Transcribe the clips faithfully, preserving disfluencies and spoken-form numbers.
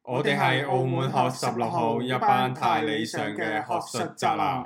我哋係澳門學十六號一班太理想嘅學術宅男。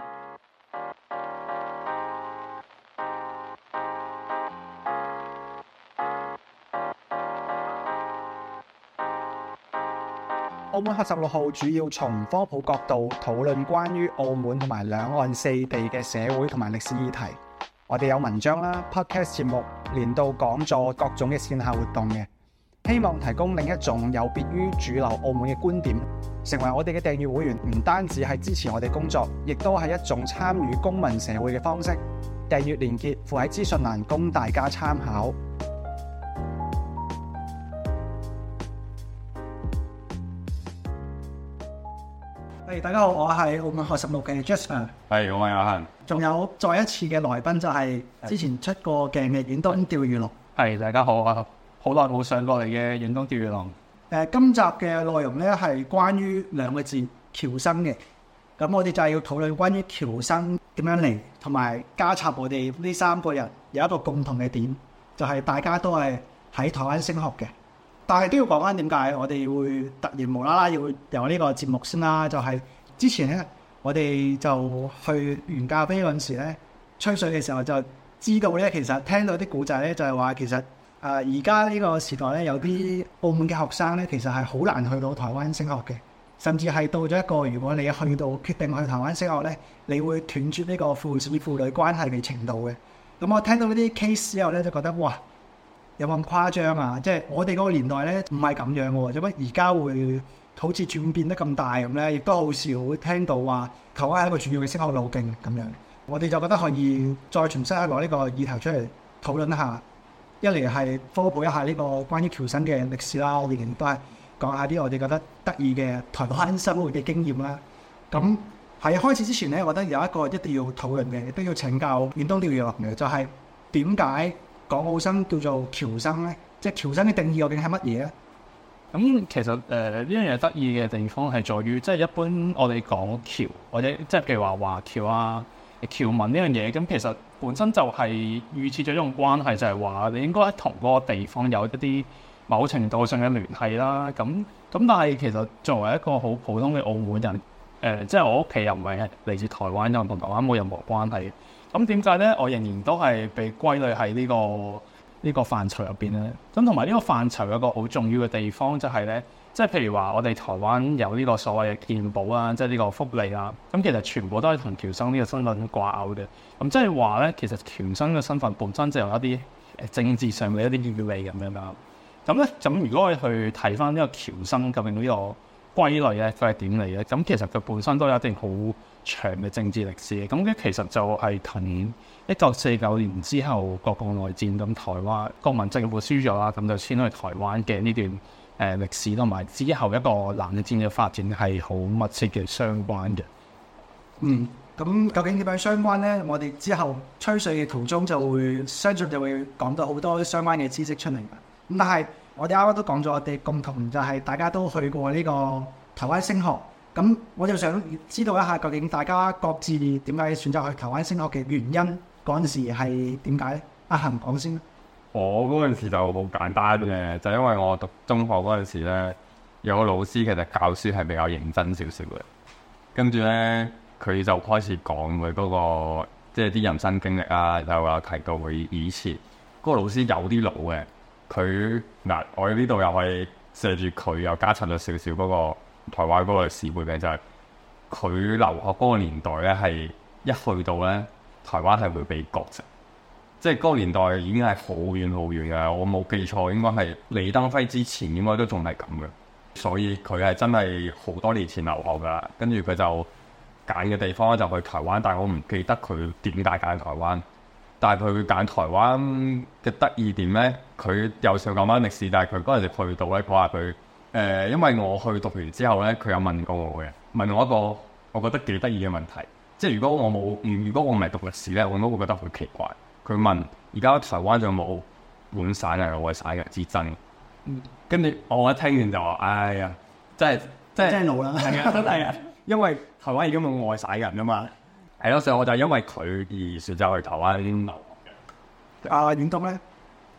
澳門學十六號主要從科普角度討論關於澳門同埋兩岸四地嘅社會同埋歷史議題。我哋有文章啦、podcast 節目、年度講座、各種嘅線下活動嘅，希望提供另一種有別於主流澳門嘅觀點。成為我哋嘅訂閱會員，唔單止係支持我哋工作，亦都係一種參與公民社會嘅方式。訂閱連結附喺資訊欄，供大家參考。Hey, 大家好，我係澳門學十六嘅 Jasper。 係，我係阿恒。 仲有再一次嘅來賓就係之前出過鏡嘅遠東釣魚龍。 係，大家好啊！好耐冇上過嚟嘅遠東釣魚龍。 誒，今集嘅內容咧係關於兩個字僑生嘅。咁我哋就係要討論關於僑生點樣嚟，同埋加插我哋呢三個人有一個共同嘅點，就係、是、大家都係喺台灣升學嘅。但係都要講翻點解我哋會突然無啦啦要有呢個節目先啦。就係、是、之前咧，我哋就去原咖啡嗰陣時咧，吹水嘅時候就知道咧，其實聽到啲古仔咧，就係話其實誒而家呢個時代咧，有啲澳門嘅學生咧，其實係好難去到台灣升學嘅，甚至係到咗一個如果你去到決定去台灣升學咧，你會斷絕呢個父子父女關係嘅程度嘅。咁我聽到呢啲 case 之後咧，就覺得哇！有冇咁誇張啊？即係我哋嗰個年代咧，唔係咁樣喎。做乜而家會好似轉變得咁大咁咧？亦都好少會聽到話台灣係一個主要嘅升學路徑咁樣。我哋就覺得可以再重新攞呢個議題出嚟討論一下。一嚟係科普一下呢個關於僑生嘅歷史啦，我哋亦都係講下啲我哋覺得得意嘅台灣生活嘅經驗啦。咁喺開始之前咧，我覺得有一個一定要討論嘅，亦都要請教遠東釣魚龍嘅，就係點解港澳生叫做僑生咧？即係僑生嘅定義究竟係乜嘢咧？ 咁其實誒呢樣嘢得意嘅地方係在於，即係一般我哋講僑或者即係譬如話華僑啊、僑民呢樣嘢，咁其實本身就係預設咗一種關係，就係話你應該同嗰個地方有一啲某程度上嘅聯繫啦。咁咁但係其實作為一個好普通嘅澳門人，誒、呃、即係我屋企又唔係嚟自台灣，又同台灣冇任何關係。咁點解咧？我仍然都係被歸類喺呢、這個呢、這個範疇入邊咧。咁同埋呢個範疇有一個好重要嘅地方就係咧，即係譬如話我哋台灣有呢個所謂嘅健保啊，即係呢個福利啊。咁其實全部都係同僑生呢個身份掛鈎嘅。咁即係話咧，其實僑生嘅身份本身就有一啲誒政治上嘅一啲意味咁樣啦。咁咧，咁如果我哋去睇翻呢個僑生究竟呢個歸類咧，佢係點嚟嘅？咁其實佢本身都有一定好長嘅政治歷史嘅，咁咧其實就係同一九四九年之後國共內戰，咁台灣國民政府輸咗啦，咁就遷去台灣嘅呢段誒、呃、歷史，同埋之後一個冷戰嘅發展係好密切嘅相關嘅。 嗯，咁究竟點樣相關咧？我哋之後吹水嘅途中就會相信就會講到好多相關嘅知識出嚟。咁但係我哋啱啱都講咗，我哋共同就係大家都去過呢個台灣升學。咁我就想知道一下，究竟大家各自點解選擇去台灣升學嘅原因，嗰陣時係點解咧？阿恒講先。 我嗰陣時就好簡單嘅，就因為我讀中學嗰陣時咧，有個老師其實教書係比較認真少少嘅，跟住咧佢就開始講佢嗰個即係啲人生經歷啊，就話提到佢以前嗰個老師有啲老嘅，佢嗱我呢度又係寫住佢又加插咗少少嗰個台灣嗰個歷史背景，就係佢留學嗰個年代咧，係一去到咧台灣係會被割席，即係嗰個年代已經係好遠好遠嘅。我冇記錯，應該係李登輝之前應該都仲係咁嘅，所以佢係真係好多年前留學㗎。跟住佢就揀嘅地方就去台灣，但係我唔記得佢點解揀台灣。但係佢揀台灣嘅得意點咧，佢又想講翻歷史，但係佢嗰陣時去到咧，佢話佢。誒、呃，因為我去讀完之後咧，佢有問過我嘅，問我一個我覺得幾得意嘅問題，即係如果我冇，如果我唔係讀歷史咧，我都會覺得好奇怪。佢問：而家台灣仲有冇本省人、外省人之爭？跟住我一聽完就話：哎呀，真係真係真係老啦，係啊，真係啊，因為台灣已經冇外省人㗎嘛。係咯，所以我就因為佢而選擇去台灣留學嘅。 阿遠東咧？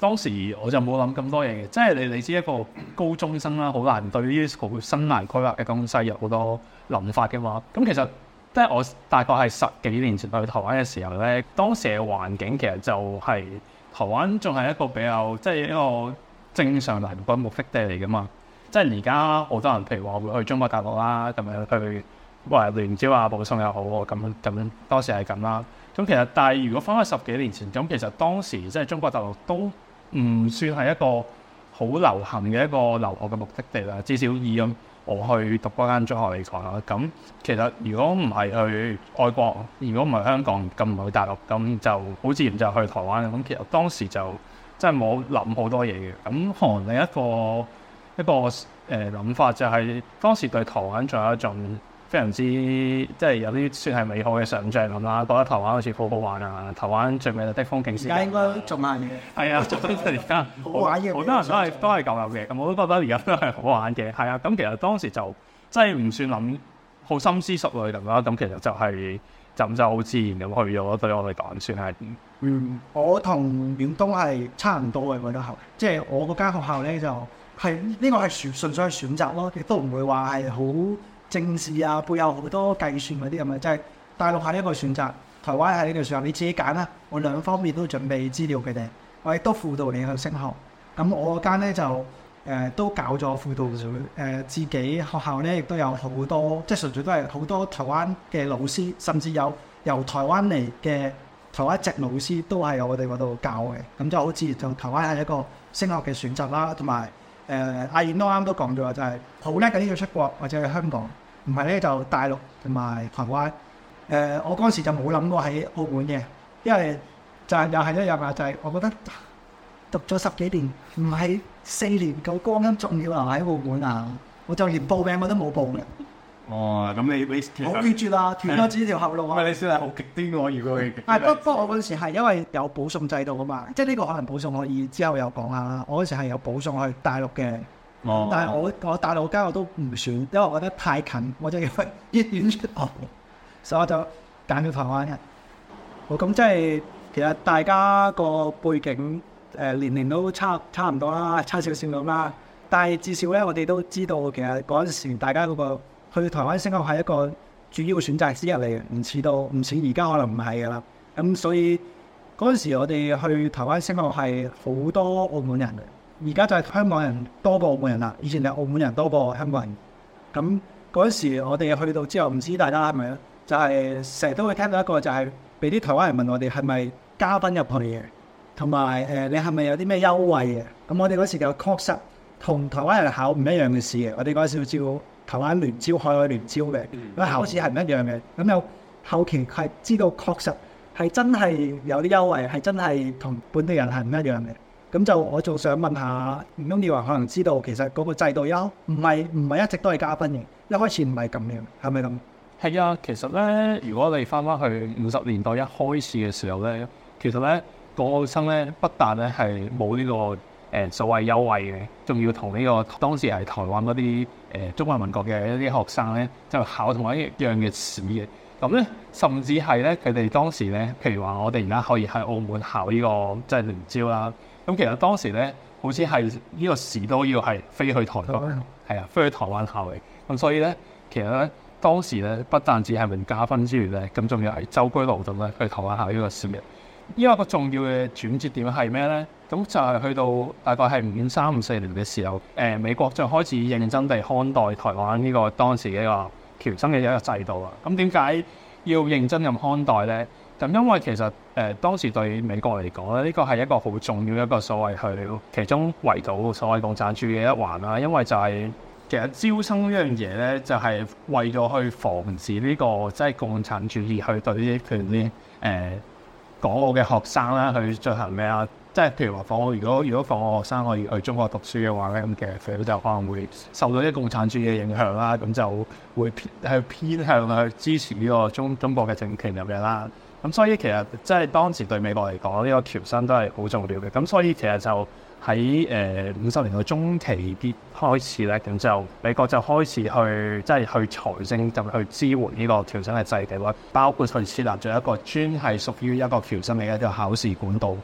當時我就冇諗咁多嘢嘅，即係你你知一個高中生啦，好難對於好生涯規劃嘅東西有好多諗法嘅嘛。咁其實即係我大概係十幾年前去台灣嘅時候咧，當時嘅環境其實就係、是、台灣仲係一個比較即係一個正常嚟嘅目的地嚟噶嘛。即係而家好多人譬如話會去中國大陸啦，咁樣去話聯招啊、保送又好咁樣咁樣，當時係咁啦。咁其實但係如果翻去十幾年前，咁其實當時即係中國大陸都唔算係一個好流行嘅一個留學嘅目的地啦。至少以咁我去讀嗰間中學嚟講啦，咁其實如果唔係去外國，如果唔係香港，咁唔去大陸，咁就好自然就去台灣。咁其實當時就真係冇諗好多嘢嘅。咁可能另一個一個誒諗、呃、法就係當時對台灣仲有一種非常之即係有啲算係美好嘅想像咁啦，覺得台灣好似好好玩啊！台灣最美麗的風景線， 而家應該仲慢嘅。 係啊，而家好玩嘅， 好多人都係都係舊有嘅，咁我都覺得而家都係好玩嘅。係啊，咁其實當時就真係唔算諗好深思熟慮咁啦。咁其實就係、是、就咁就好自然咁去咗，對我嚟講算係。 嗯，我同遠東係差唔多嘅，我覺得係，即係我嗰間學校咧就係、是、呢、這個係選純粹係選擇咯，亦都唔會話係好政治啊，背後好多計算嗰啲咁嘅，即係大陸係一個選擇，台灣係呢個選擇，你自己揀啦。我兩方面都準備資料佢哋，我亦都輔導你去升學。咁我嗰間咧就誒、呃、都搞咗輔導誒、呃，自己學校咧亦都有好多，即係純粹都係好多台灣嘅老師，甚至有由台灣嚟嘅台灣籍老師都係由我哋嗰度教嘅。咁就好自然，就台灣係一個升學嘅選擇啦，同埋誒阿燕都啱都講咗，就係好叻嘅呢個出國或者係香港。唔係咧就大陸同埋台灣，誒、呃、我嗰陣時就冇諗過喺澳門嘅，因為就係又係一樣啊，就係、是、我覺得讀咗十幾年，唔係四年夠光陰重要啊喺澳門啊，我就連報名我都冇報嘅。 哦，咁你你好決絕啦，斷咗自己條後路啊！ 喂，你算係好極端喎，如果佢係不不過我嗰陣時係因為有保送制度啊嘛，即係呢個可能保送可以之後有講下啦。我嗰陣時係有保送去大陸嘅。 哦、 但係我我大陸間我都唔選，因為我覺得太近，我就要去醫院出學，所以我就揀咗台灣人。好，咁即係其實大家個背景誒、呃、年齡都差差唔多啦，差少少咁啦。但係至少咧，我哋都知道其實嗰陣時大家嗰個去台灣升學係一個主要選擇之一嚟嘅，唔似到唔似而家可能唔係㗎啦。咁所以嗰陣時我哋去台灣升學係好多澳門人嘅。而家就係香港人多過澳門人啦，以前係澳門人多過香港人。咁嗰陣時我哋去到之後，唔知大家係咪咧？就係成日都會聽到一個就係俾啲台灣人問我哋係咪加分入去嘅，同埋誒你係咪有啲咩優惠嘅？咁我哋嗰時就確實同台灣人考唔一樣嘅事嘅。我哋嗰時要招台灣聯招、海外聯招嘅，咁考試係唔一樣嘅。咁有後期係知道確實係真係有啲優惠，係真係同本地人係唔一樣嘅。咁就我仲想問下，唔通你話可能知道其實嗰個制度優唔係唔係一直都係加分嘅，一開始唔係咁樣，係咪咁？ 係啊，其實咧，如果你翻翻去五十年代一開始嘅時候咧，其實咧港澳生咧不但咧係冇呢個誒、呃、所謂優惠嘅，仲要同呢個當時係台灣嗰啲誒中華民國嘅一啲學生咧，就考同一樣嘅試嘅。咁咧，甚至係咧佢哋當時咧，譬如話我哋而家可以喺澳門考呢、這個即係聯招啦。咁其實當時咧，好似係呢個時都要係飛去台灣，係啊，飛去台灣考嘅。咁所以咧，其實咧，當時咧，不但止係名加分之餘咧，咁仲要係舟車勞頓咧去台灣考呢個試嘅。呢個個重要嘅轉折點係咩咧？咁就係去到大概係五三五四年嘅時候，誒、呃、美國就開始認真地看待台灣呢個當時嘅一個僑生嘅一個制度啊。咁點解要認真咁看待咧？咁因為其實誒、呃、當時對美國嚟講咧，呢個係一個好重要一個所謂去其中圍堵所謂共產主義嘅一環啦。因為就係、是、其實招生呢樣嘢咧，就係、是、為咗去防止呢、這個即係、就是、共產主義去對啲譬如啲誒港澳嘅學生啦去進行咩啊？即係譬如話，放我如果如果放我學生可以去中國讀書嘅話咧，咁其實佢就可能會受到啲共產主義嘅影響啦，咁就會偏去偏向去支持呢個中中國嘅政權咁樣啦。咁所以其實即係當時對美國嚟講，呢、這個僑生都係好重要嘅。咁所以其實就喺誒五十年代中期啲開始咧，咁就美國就開始去即係去財政就去支援呢個僑生嘅制度啦，包括佢設立咗一個專係屬於一個僑生嘅一個考試管道。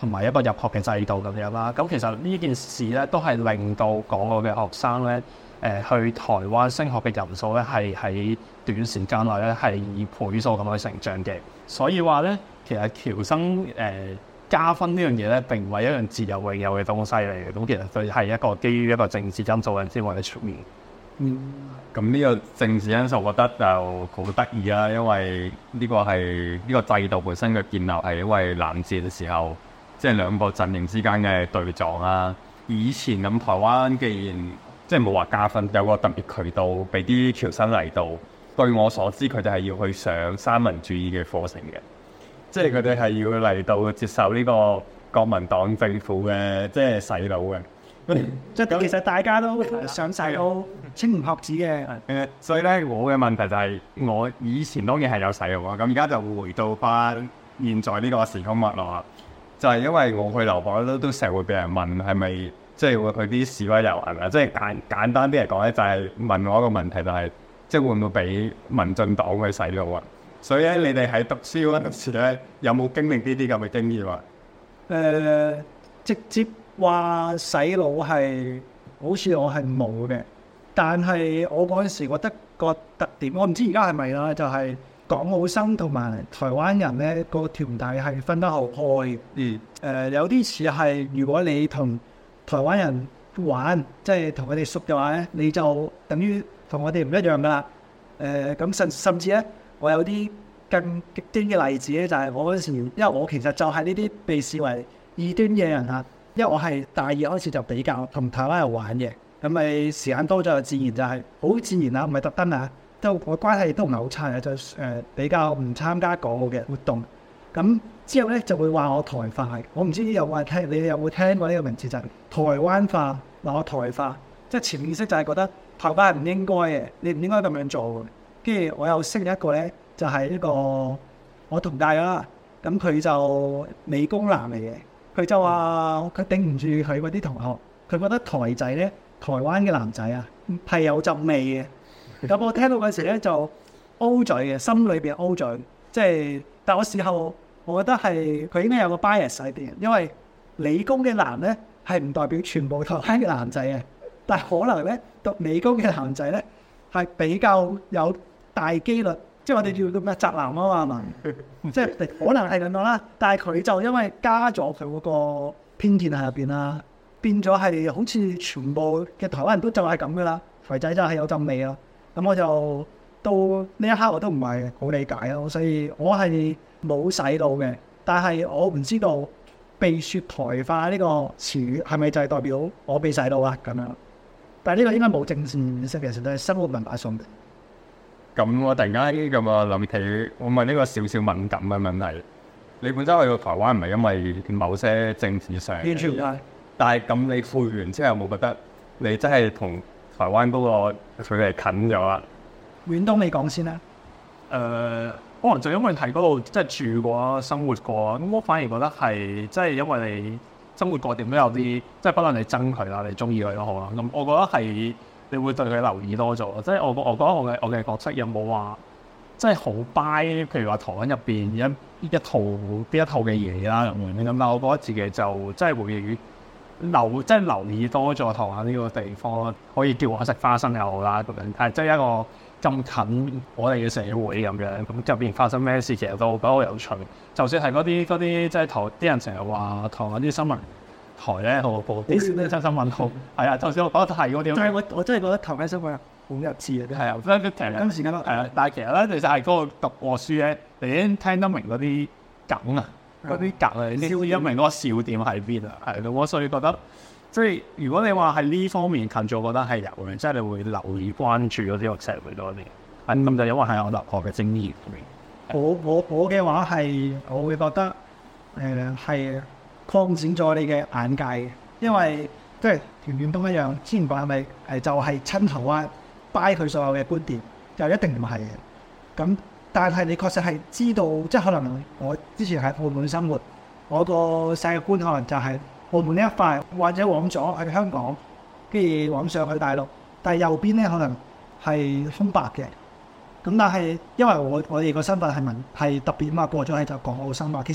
同埋一個入學嘅制度咁樣啦。咁其實呢件事咧都係令到港澳嘅學生咧誒、呃、去台灣升學嘅人數咧係喺短時間內咧係以倍數咁去成長嘅。所以話咧，其實僑生誒、呃、加分呢樣嘢咧並唔係一樣自由永有嘅東西嚟嘅。咁其實佢係一個基於一個政治因素先為你出面。 嗯，咁呢個政治因素，我覺得就好得意啦，因為呢個係呢、這個制度本身嘅建立係因為冷戰嘅時候，即係兩個陣營之間嘅對撞啦。以前咁台灣既然即係冇話加分，有個特別渠道俾啲僑生嚟到。據我所知，佢哋係要去上三民主義嘅課程嘅，即係佢哋係要嚟到接受呢個國民黨政府嘅即係洗腦嘅。 即係其實大家都上晒都青年學子嘅。 誒，所以咧，我嘅問題就係、是、我以前當然係有洗腦啊，咁而家就回到翻現在呢個時空脈絡，就係、是、因為我去留學都都成日會俾人問係咪即係會去啲示威遊行啊？即係簡簡單啲嚟講咧，就係、是、問我一個問題、就是，就係即係會唔會俾民進黨去洗腦啊？所以咧，你哋喺讀書嗰陣時咧，有冇經歷呢啲咁嘅經驗啊？ 誒、呃，直接話洗腦係好似我係冇嘅，但係我嗰陣時覺得個特點，我唔知而家係咪啦，就係、是、港澳生同埋台灣人咧個團體係分得好開。嗯。誒、呃，有啲似係如果你同台灣人玩，即係同佢哋熟嘅話咧，你就等於同我哋唔一樣噶啦。誒、呃，咁甚甚至咧，我有啲更極端嘅例子咧，就係、是、我嗰陣時，因為我其實就係呢啲被視為異端嘅人啊。因為我係大二開始就比較同台灣人玩嘅，咁咪時間多咗，自然就係好自然啦，唔係特登啊，都我關係都唔係好差嘅，就誒、呃、比較唔參加港澳嘅活動。咁之後咧就會話我台化，我唔知有冇聽，你哋有冇聽過呢個名詞就係、是、台灣化，話我台化，即係潛意識就係覺得台灣係唔應該嘅，你唔應該咁樣做嘅。跟住我又識一個咧，就係、是、一個我同屆啦，咁佢就理工男嚟嘅。佢就話佢頂唔住佢嗰啲同學，佢覺得台仔咧，台灣嘅男仔啊係有陣味嘅。咁我聽到嗰時咧就 O 嘴嘅，心裏邊 O 嘴。即係，但我事後我覺得係佢應該有個 bias 喺邊，因為理工嘅男咧係唔代表全部台灣嘅男仔嘅，但係可能咧讀理工嘅男仔咧係比較有大機率。即係我哋叫做咩宅男啊嘛，即係可能係咁樣啦。但係佢就因為加咗佢嗰個偏見喺入邊啦，變咗係好似全部嘅台灣人都就係咁噶啦。台仔就係有陣味咯。咁我就到呢一刻我都唔係好理解咯。所以我係冇洗腦嘅，但係我唔知道被説台化呢個詞語係咪就係代表我被洗腦啊咁樣。但係呢個應該冇政治意識嘅，其實都係生活文化上嘅。 咁我突然間咁啊諗起，我問呢個少少敏感嘅問題。你本身去到台灣唔係因為某些政治上， 完全唔係。 但係咁你去完之後有冇覺得你真係同台灣嗰個距離近咗啊？ 遠東你講先啦。 誒、呃，可能就因為喺嗰度即係住過、生活過，咁我反而覺得係即係因為你生活過點都有啲，即係不論你憎佢啦，你中意佢都好啦。咁我覺得係。你會對佢留意多咗，即係我我覺得我嘅我嘅角色有冇話，即係好 buy，譬如話台灣入邊一一套邊一套嘅嘢啦咁樣，咁但係我覺得自己就真係會留，即係留意多咗台灣呢個地方，可以叫我食花生又好啦咁樣，係即係一個咁近我哋嘅社會咁樣，咁入邊發生咩事其實都覺得好有趣。就算係嗰啲嗰啲即係台啲人成日話台灣啲新聞。台咧，我報啲真新聞好係啊！就算我覺得係嗰啲， 但係我我真係覺得台灣新聞好入智啊！ 係啊，所以其實今時今日係啊，但係其實咧，其實係嗰個讀過書咧，你已經聽得明嗰啲梗啊，嗰啲梗啊，你知唔知明嗰個笑點喺邊啊？係咯，我所以覺得即係如果你話喺呢方面近咗，我覺得係有嘅，即係你會留意關注嗰啲個社會多啲。係咁就因為係我留學嘅經驗。 我我我嘅話係，我會覺得誒係。呃擴展咗你嘅眼界嘅，因為即係田遠東一樣，之前講係咪誒就係親台灣 buy 佢所有嘅觀點，就一定唔係嘅。咁但係你確實係知道，即係可能我之前喺澳門生活，我個世界觀可能就係澳門呢一塊，或者往左喺香港，跟住往上去大陸，但係右邊咧可能係空白嘅。咁但係因為我我哋個身份係民係特別嘛，過咗去就港澳生嘛，其實。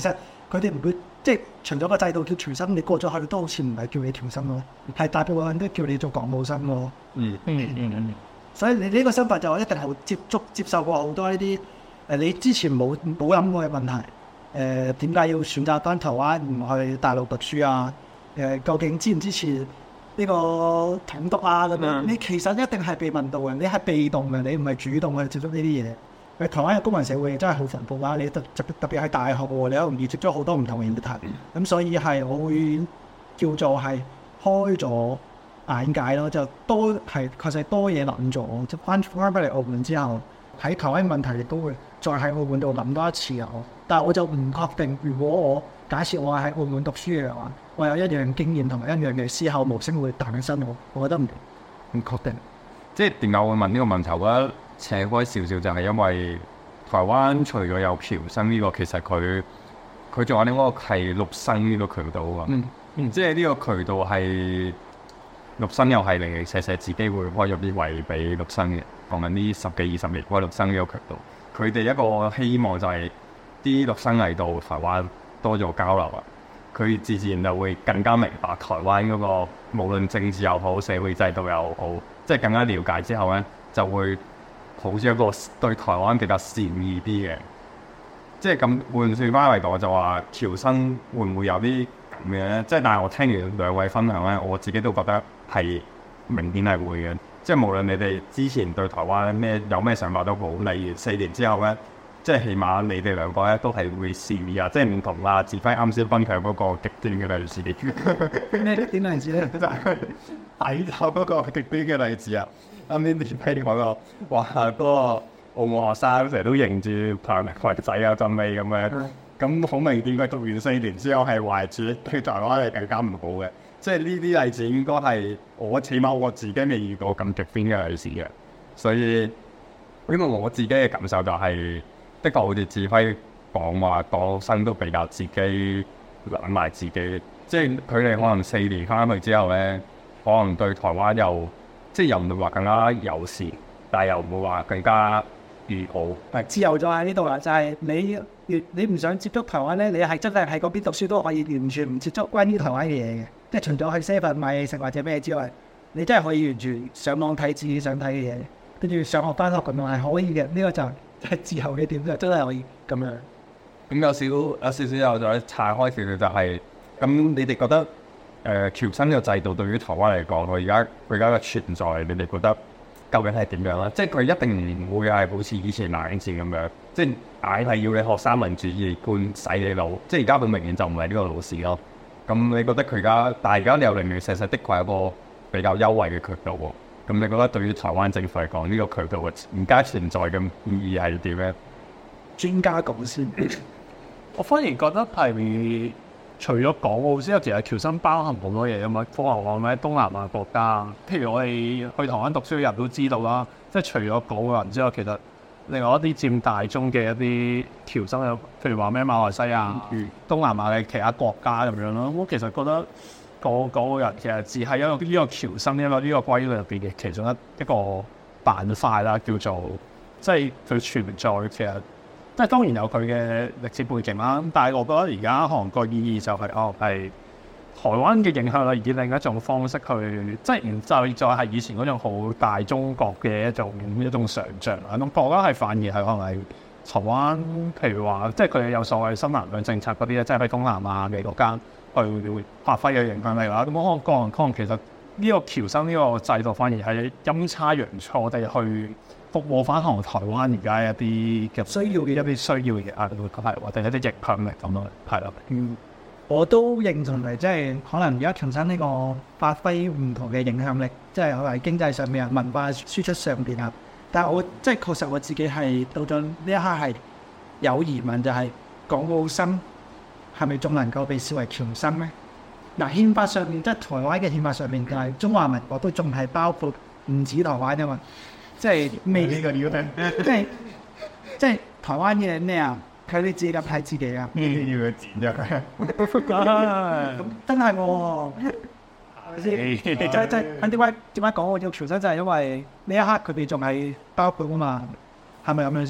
佢哋唔會即係除咗個制度叫僑生，你過咗去都好似唔係叫你僑生咯，係大部分人都叫你做港澳生咯。 嗯嗯嗯嗯。 所以你呢個身份就一定係會接觸接受過好多呢啲誒你之前冇冇諗過嘅問題。誒點解要選擇翻台灣唔去大陸讀書啊？誒、呃、究竟支唔支持呢個統獨啊？咁樣你其實一定係被問到嘅，你係被動嘅，你唔係主動去接觸呢啲嘢。誒台灣嘅公民社會真係好蓬勃啊！你特特特別係大學喎，你好容易接觸好多唔同嘅議題。咁所以係我會叫做係開咗眼界咯，就多係確實多嘢諗咗。即翻翻返嚟澳門之後，喺台灣問題亦都會再喺澳門度諗多一次啊！但係我就唔確定，如果我假設我係喺澳門讀書嘅話，我有一樣經驗同埋一樣嘅思考模式會誕生我，我覺得唔唔確定。 即係點解我會問呢個問題？我覺得扯開少少就係因為台灣除咗有僑生呢個，其實佢佢仲有另一個係陸生呢個渠道啊。 嗯嗯，即係呢個渠道係陸生又係零零舍舍自己會開咗啲位俾陸生嘅，講緊呢十幾二十年開陸生呢個渠道。佢哋一個希望就係啲陸生嚟到台灣多咗交流啊，佢自然就會更加明白台灣嗰個無論政治又好，社會制度又好，即係更加了解之後咧，就會抱住一個對台灣比較善意啲嘅。即係咁換算翻嚟講，就話僑生會唔會有啲咁嘅咧？即係但係我聽完兩位分享咧，我自己都覺得係明顯係會嘅。即係無論你哋之前對台灣咩有咩想法都好，例如四年之後咧，即係起碼你哋兩個咧都係會善意啊，即係唔同啊。志輝啱先分享嗰個極端嘅例子， 咩點例子咧？ 就係睇到嗰個極端嘅例子啊！啱先志輝講個話嗰個澳門學生成日都認住台灣仔啊、陣味咁樣，咁好明顯佢讀完四年之後係懷住對台灣係更加唔好嘅。即係呢啲例子應該係我起碼我自己未遇過咁極端嘅例子嘅，所以因為我自己嘅感受就係、是，的確好似志輝講話，港生都比較自己諗埋自己，即係佢哋可能四年翻去之後咧，可能對台灣又即係又唔會話更加友善，但係又唔會話更加友好。 係自由咗喺呢度啦，就係、是、你越你唔想接觸台灣咧，你係真係喺嗰邊讀書都可以完全唔接觸關於台灣嘅嘢嘅。即係除咗去 seven 買嘢食或者咩之外，你真係可以完全上網睇自己想睇嘅嘢，跟住上學翻學咁樣係可以嘅。呢、這個就係自由嘅點，就真係可以咁樣。 咁有少有少少又再拆開少少就係、是，咁你哋覺得誒僑生呢個制度對於台灣嚟講，佢而家佢而家嘅存在，你哋覺得究竟係點樣咧？即係佢一定唔會係好似以前冷戰咁樣，即係硬係要你學三民主義觀洗你腦。即係而家佢明顯就唔係呢個老師咯。咁你覺得佢而家，但係而家你又零零舍舍的確係一個比較優惠嘅渠道喎。咁你覺得對於台灣政府嚟講，呢、這個渠道嘅而家存在嘅意義係點咧？ 專家講先， 我反而覺得係除咗港澳之外，其實僑生包含好多嘢啊嘛。科學講咩東南亞國家，譬如我哋去台灣讀書嘅人都知道啦。即係除咗港澳人之外，其實另外一啲佔大宗嘅一啲僑生，譬如話咩馬來西亞、嗯、東南亞嘅其他國家咁樣咯。我其實覺得個個人其實只係一個呢個僑生呢個呢個歸類入邊嘅其中一一個板塊啦，叫做即係佢存在其實即係當然有佢嘅歷史背景啦。但係我覺得而家可能個意義就係、是、哦係台灣嘅影響力以另一種方式去，即係唔就再係以前嗰種好大中國嘅一種一種想像啦。咁我覺得係反而係可能係台灣，譬如話即係佢哋有所謂新南向政策嗰啲咧，即係喺東南亞嘅國家去發揮嘅影響力啦。咁可能個人可能其實呢個僑生呢個制度反而係陰差陽錯地去服務翻可能台灣而家一啲嘅需要嘅一啲需要嘅啊，係或者一啲影響力咁咯，係啦。 嗯。我都認同係，即係可能而家僑生呢個發揮唔同嘅影響力，即係喺經濟上面啊、文化輸出上邊啊。但係我即係確實我自己係到咗呢一刻係有疑問，就係港澳生係咪仲能夠被視為僑生咧？嗱，憲法上面即係台灣嘅憲法上面，就係中華民國都仲係包括唔止台灣啊嘛，即係未呢個要聽，即係即係台灣嘅咩啊？睇你自己咁睇自己啊！ 要佢剪咗佢， 咁真係喎，係咪先？即係即係點解點解講我要僑生就係因為呢一刻佢哋仲係包括啊嘛，係咪咁樣先？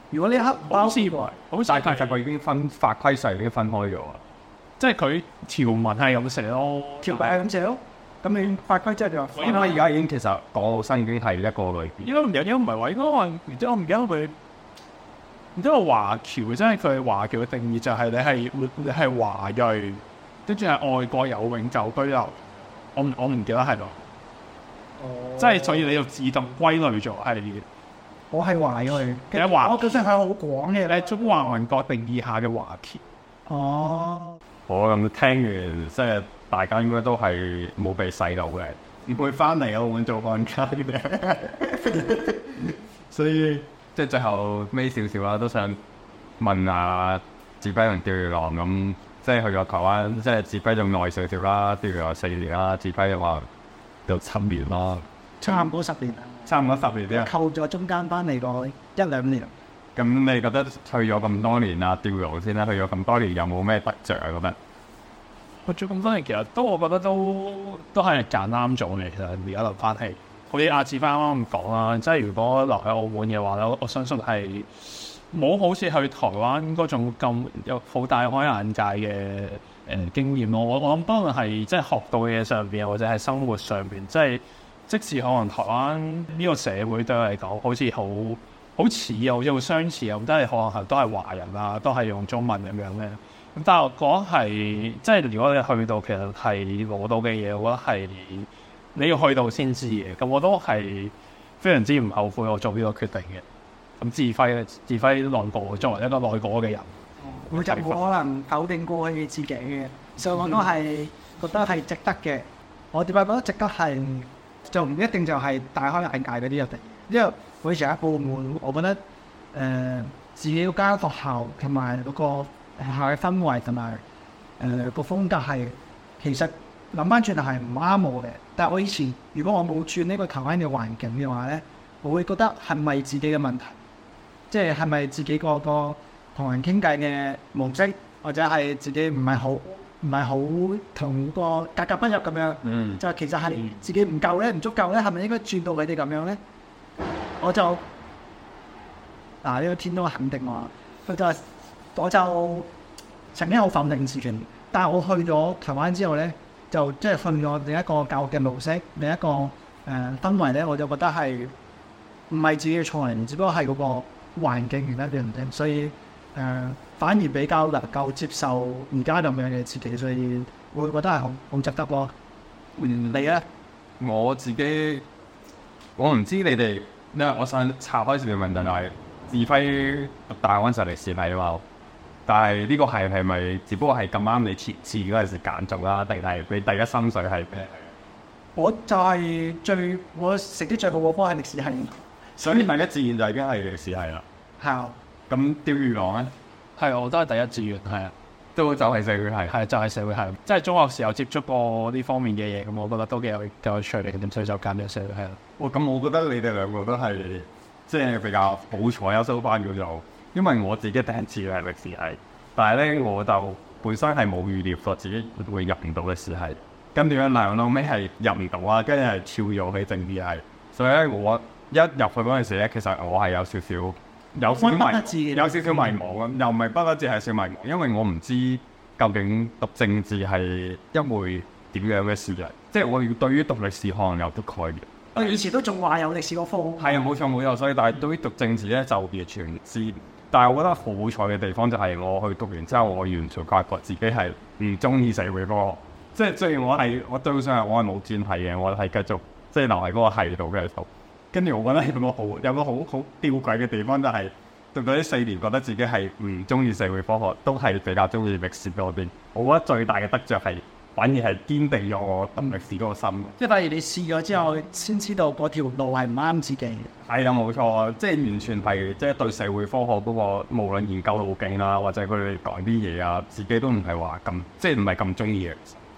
如果呢一刻好似包好似但係其實佢已經分法規上已經分開咗啊。 即係佢條文係咁寫咯， 條例係咁寫咯，咁你法規即係就話因為而家已經其實港澳生已經係一個類別。 應該唔有，應該唔係話，應該話唔知我唔記得佢，唔知話華僑，即係佢華僑嘅定義就係你係你係華裔，跟住係外國有永久居留。我唔我唔記得係咯，即係所以你就自動歸類咗係我係華裔， 你係華我覺得係好廣嘅你係中華民國定義下嘅華僑。 哦， 好咁聽完，即係大家應該都係冇被洗腦嘅，唔會翻嚟澳門做按家嘅。所以即係最後尾少少啦，都想問下志輝同釣魚郎咁，即係去咗台灣，即係志輝仲耐少少啦，釣魚郎四年啦，志輝嘅話就七年啦， 差唔多十年啦， 差唔多十年啫。 扣咗中間翻嚟個一兩年。 咁你覺得去咗咁多年啊，釣魚郎先啦，去咗咁多年有冇咩得着啊？覺得？ 去咗咁多年，其實都我覺得都都係揀啱咗嘅。其實而家留翻起，好似阿志輝啱啱咁講啦，即係如果留喺澳門嘅話咧，我相信係冇好似去台灣嗰種咁有好大開眼界嘅誒、呃、經驗咯。我我諗不論係即係學到嘅嘢上邊，或者係生活上邊，即係即使可能台灣呢個社會對我嚟講好似好好似又又相似又，都係可能係都係華人啊，都係用中文咁樣咧。咁但係我覺得係即係如果你去到其實係攞到嘅嘢，我覺得係你要去到先知嘅。咁我都係非常之唔後悔我做呢個決定嘅。咁志輝咧，志輝內部作為一個內國嘅人， 我就冇可能否定過去自己嘅，所以我都係覺得係值得嘅。我點解覺得值得係就唔一定就係大開眼界嗰啲入嚟，因為我以前喺部門，我覺得誒、呃、自己嗰間學校同埋嗰個學校嘅氛圍同埋誒個風格係其實諗翻轉頭係唔啱我嘅。但係我以前如果我冇轉呢個台灣嘅環境嘅話咧，我會覺得係咪自己嘅問題？即係係咪自己個個同人傾偈嘅模式，或者係自己唔係好唔係好同個格格不入咁樣？ 嗯， 就其實係自己唔夠咧，唔足夠咧，係咪應該轉到佢哋咁樣咧？我就嗱呢、這個天都肯定我，佢就我就曾經好否定自己，但係我去咗台灣之後咧，就即係訓咗另一個教育嘅模式，另一個誒、呃、氛圍咧，我就覺得係唔係自己嘅錯嚟，只不過係嗰個環境原因對唔對？所以誒、呃、反而比較能夠接受而家咁樣嘅自己，所以我會覺得係好好值得咯。你咧？ 我自己我唔知你哋，因為我想拆開少少問題，就係志輝讀大安就歷史系啊嘛，但係呢個係係咪只不過係咁啱你填志嗰陣時揀中啦，定係你第一心水係咩？ 我就係最我成績最好嗰科係歷史系， 所以第一志願就已經係歷史系啦。 係啊， 咁釣魚郎咧， 係我都係第一志願，係啊， 都就係社會系。 係就係、是、社會系，即係中學時候接觸過呢方面嘅嘢，咁我覺得都幾有幾有趣嘅，咁所以就揀咗社會系啦。 哇！咁我覺得你哋兩個都係即係比較好彩啊，收翻叫做，因為我自己第一次係歷史系，但係咧我就本身係冇預料過自己會入唔到歷史系，跟住咧嗱到尾係入唔到啊，跟住係跳咗去政治系，所以咧我一入去嗰陣時咧，其實我係有少少有少少迷，有少少迷茫咁，又唔係不得志係少迷茫，因為我唔知究竟讀政治係一回點樣嘅事嚟，即係我要對於讀歷史可能有啲概念。 我以前都仲話有歷史嗰科， 係啊，冇錯冇錯，所以但係對於讀政治咧就完全唔知。但係我覺得好彩嘅地方就係我去讀完之後，我完全發覺自己係唔中意社會科學。即係雖然我係我對上係我係冇轉系嘅，我係繼續即係留喺嗰個系度嘅讀。跟住我覺得有個好有個好好吊詭嘅地方就係、是、讀到呢四年，覺得自己係唔中意社會科學，都係比較中意歷史嗰邊。我覺得最大嘅得着係反而係堅定咗我讀歷史嗰個心。 即係反而你試咗之後，先知道嗰條路係唔啱自己。 係啊，冇錯，即係完全係即係對社會科學嗰個無論研究路徑啦，或者佢哋講啲嘢啊，自己都唔係話咁，即係唔係咁中意嘅。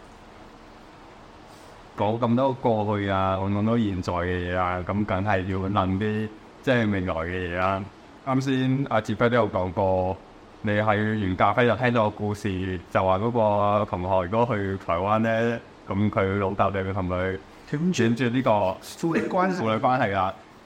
講咁多過去啊，講咁多現在嘅嘢啊，咁梗係要諗啲即係未來嘅嘢啦。啱先阿志輝都有講過，你喺完咖啡就聽到個故事，就話嗰個同學如果去台灣咧，咁佢老豆就會同佢斷絕呢個父女關係父女關係啦。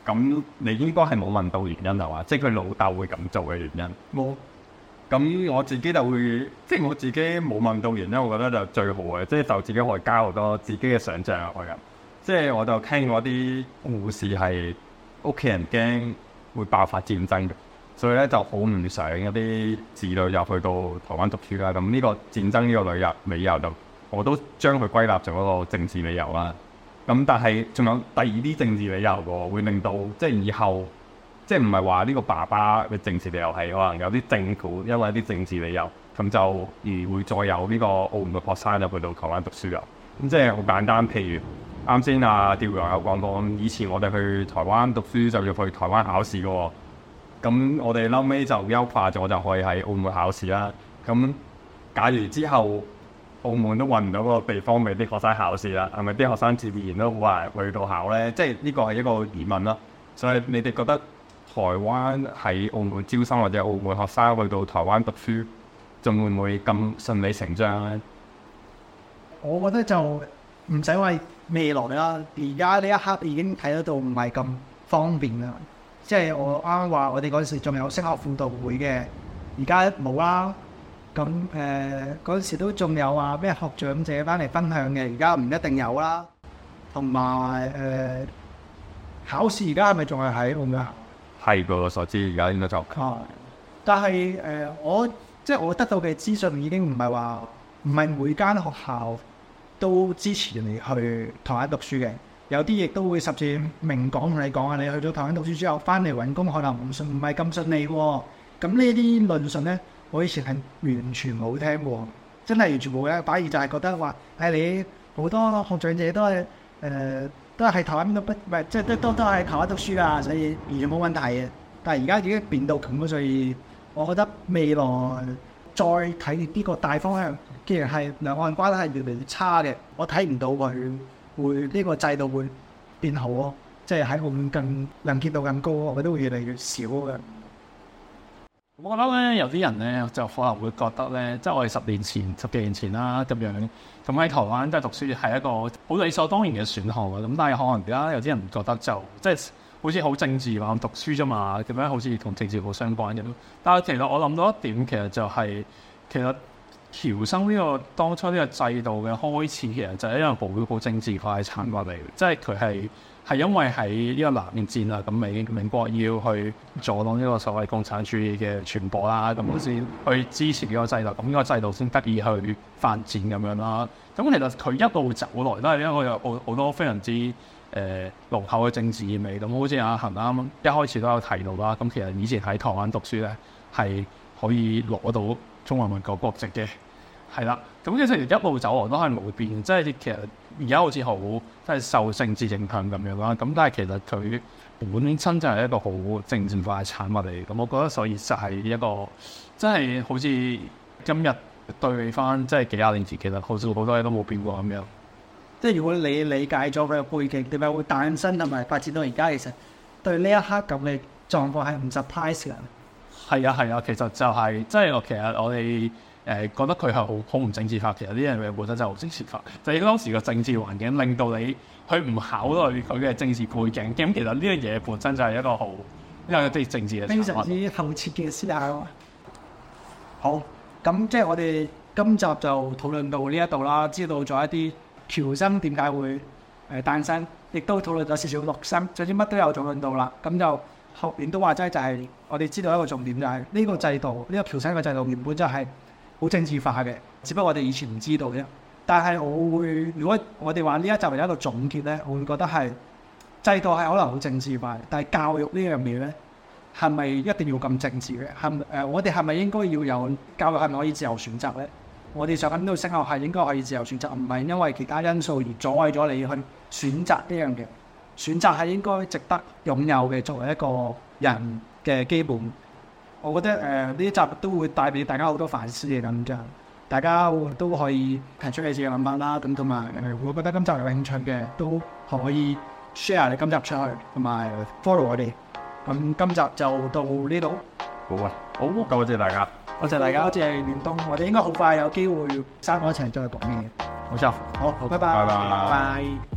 咁你應該係冇問到原因係嘛？即係佢老豆會咁做嘅原因。 冇。 咁我自己就會，即係我自己冇問到原因，我覺得就最好嘅，即係就自己可以加好多自己嘅想像入去嘅。即係我就聽過啲護士係屋企人驚會爆發戰爭嘅，所以咧就好唔想一啲子女入去到台灣讀書啦。咁呢個戰爭呢個理由理由就我都將佢歸納做一個政治理由啦。咁但係仲有第二啲政治理由喎，會令到即係以後。即係唔係話呢個爸爸嘅政治理由係可能有啲政府因為一啲政治理由咁就而會再有呢個澳門嘅學生入去到台灣讀書啊。咁即係好簡單，譬如啱先阿吊陽有講過，以前我哋去台灣讀書就要去台灣考試嘅喎。咁我哋後尾就優化咗，就可以喺澳門考試啦。咁假如之後澳門都揾唔到嗰個地方俾啲學生考試啦，係咪啲學生自然都好難去到考呢？即係呢個係一個疑問啦。所以你哋覺得台灣喺澳門招生或者澳門學生去到台灣讀書，仲會唔會咁順理成章咧？ 我覺得就唔使話未來啦，而家呢一刻已經睇得到唔係咁方便啦。即係我啱啱話，我哋嗰陣時仲有升學輔導會嘅，而家冇啦。咁誒嗰陣時都仲有話咩學長姐翻嚟分享嘅，而家唔一定有啦。同埋誒考試而家係咪仲係喺澳門？ 係據我所知，而家應該就係，但係誒、呃，我即係我得到嘅資訊已經唔係話唔係每間學校都支持你去台灣讀書嘅，有啲亦都會甚至明講同你講啊，你去咗台灣讀書之後翻嚟揾工可能唔順唔係咁順利喎、哦。咁呢啲論述咧，我以前係完全冇聽過，真係完全冇嘅。反而就係覺得話，誒、哎、你好多學長姐都係誒。呃都係喺台灣都不唔係，即係都都都係喺台灣讀書㗎，所以完全冇問題嘅。但係而家已經變到咁，所以我覺得未來再睇呢個大方向，既然係兩岸關係越嚟越差嘅，我睇唔到佢會呢、這個制度會變好咯。即係喺澳門更能見度更高，我覺得會越嚟越少嘅。 我覺得咧，有啲人咧就可能會覺得咧，即係我哋十年前、十幾年前啦咁樣，咁喺台灣即係讀書係一個好理所當然嘅選項啊。咁但係可能而家有啲人覺得就即係好似好政治話讀書啫嘛，咁樣好似同政治好相關嘅。但係其實我諗到一點，其實就係、是、其實僑生呢個當初呢個制度嘅開始，其實就係因為好好政治化嘅產物嚟，即係佢係。係因為喺呢個南越戰啊，咁美美國要去阻擋呢個所謂共產主義嘅傳播啦，咁先去支持呢個制度，咁呢個制度先得以去發展咁樣啦。咁其實佢一路走來都係因為有好好多非常之誒濃厚嘅政治意味。咁好似阿恒啱一開始都有提到啦。咁其實以前喺台灣讀書咧係可以攞到中華民國國籍嘅。係啦，咁其實一路走來都係冇變，即係其實而家好似好即係受政治影響咁樣啦。咁但係其實佢本身就係一個好政治化嘅產物嚟。咁我覺得所以就係一個即係好似今日對比翻，即係幾廿年前其實好似好多嘢都冇變過咁樣。 即係如果你理解咗佢嘅背景點解會誕生同埋發展到而家，其實對呢一刻咁嘅狀況係唔 surprise 嘅。 係啊係啊，其實就係、是、即係我其實我哋。誒、呃、覺得佢係好好唔政治化，其實呢樣嘢本身就好政治化。就係、是、當時個政治環境令到你去唔考慮佢嘅政治背景，咁其實呢樣嘢本身就係一個好因為啲政治嘅非常之後設嘅思考。好，咁即係我哋今集就討論到呢一度啦，知道咗一啲僑生點解會誒誕生，亦都討論咗少少陸生，總之乜都有討論到啦。咁就後面都話齋就係我哋知道一個重點就係呢個制度，呢、這個僑生嘅制度原本就係好政治化嘅，只不過我哋以前唔知道啫。但係我會，如果我哋話呢一集為一個總結咧，我會覺得係制度係可能好政治化，但係教育呢樣嘢咧，係咪一定要咁政治嘅？係誒、呃，我哋係咪應該要有教育係咪可以自由選擇咧？我哋上緊呢度升學係應該可以自由選擇，唔係因為其他因素而阻礙咗你去選擇呢樣嘢。選擇係應該值得擁有嘅，作為一個人嘅基本。我覺得誒呢、呃、一集都會帶俾大家好多反思嘅咁就，大家都可以提出你自己嘅諗法啦。咁同埋誒，我覺得今集有興趣嘅都可以 share 你今集出去，同埋 follow 我哋。咁今集就到呢度。 好啊，好，多謝大家， 多謝大家，多謝聯東。我哋應該好快有機會三個一齊再講嘢。 冇錯， 好，好，拜拜， 拜拜。 拜拜。